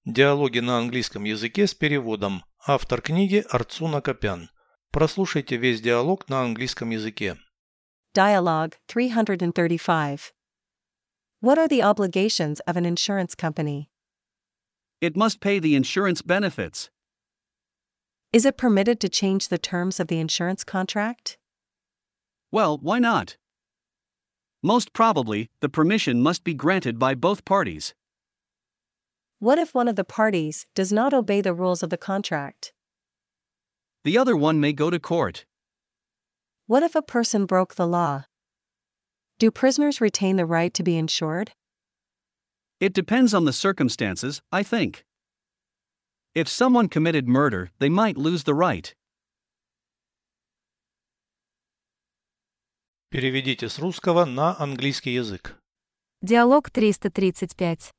Диалоги на английском языке с переводом. Автор книги Арцуна Копян. Прослушайте весь диалог на английском языке. Dialogue 335. What are the obligations of an insurance company? It must pay the insurance benefits. Is it permitted to change the terms of the insurance contract? Well, why not? Most probably, the permission must be granted by both parties. What if one of the parties does not obey the rules of the contract? The other one may go to court. What if a person broke the law? Do prisoners retain the right to be insured? It depends on the circumstances, I think. If someone committed murder, they might lose the right. Переведите с русского на английский язык. Диалог 335.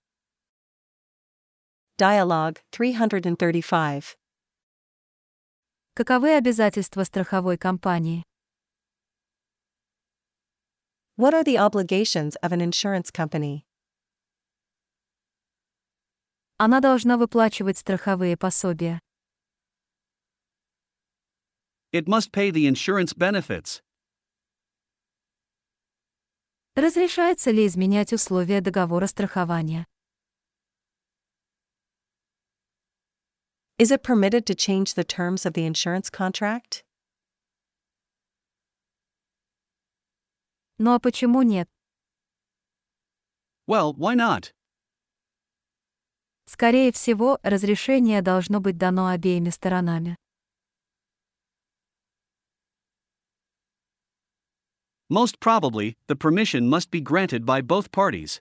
Dialogue 335. Каковы обязательства страховой компании? What are the obligations of an insurance company? Она должна выплачивать страховые пособия. It must pay the insurance benefits. Разрешается ли изменять условия договора страхования? Is it permitted to change the terms of the insurance contract? Ну а почему нет? Well, why not? Скорее всего, разрешение должно быть дано обеими сторонами. Most probably, the permission must be granted by both parties.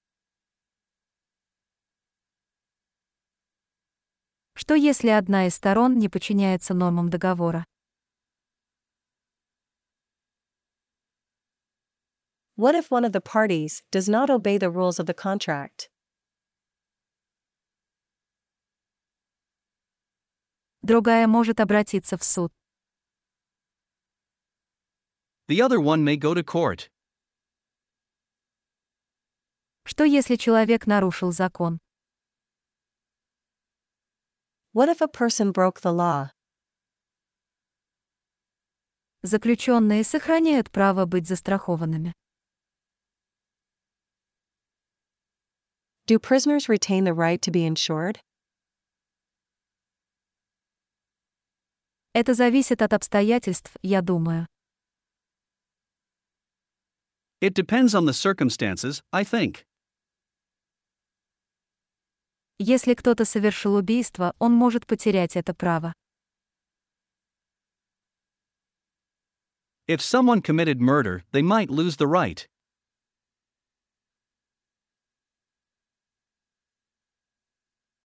Что если одна из сторон не подчиняется нормам договора? What if one of the parties does not obey the rules of the contract? Другая может обратиться в суд. The other one may go to court. Что если человек нарушил закон? What if a person broke the law? Заключенные сохраняют право быть застрахованными. Do prisoners retain the right to be insured? Это зависит от обстоятельств, я думаю. It depends on the circumstances, I think. Если кто-то совершил убийство, он может потерять это право. If someone committed murder, they might lose the right.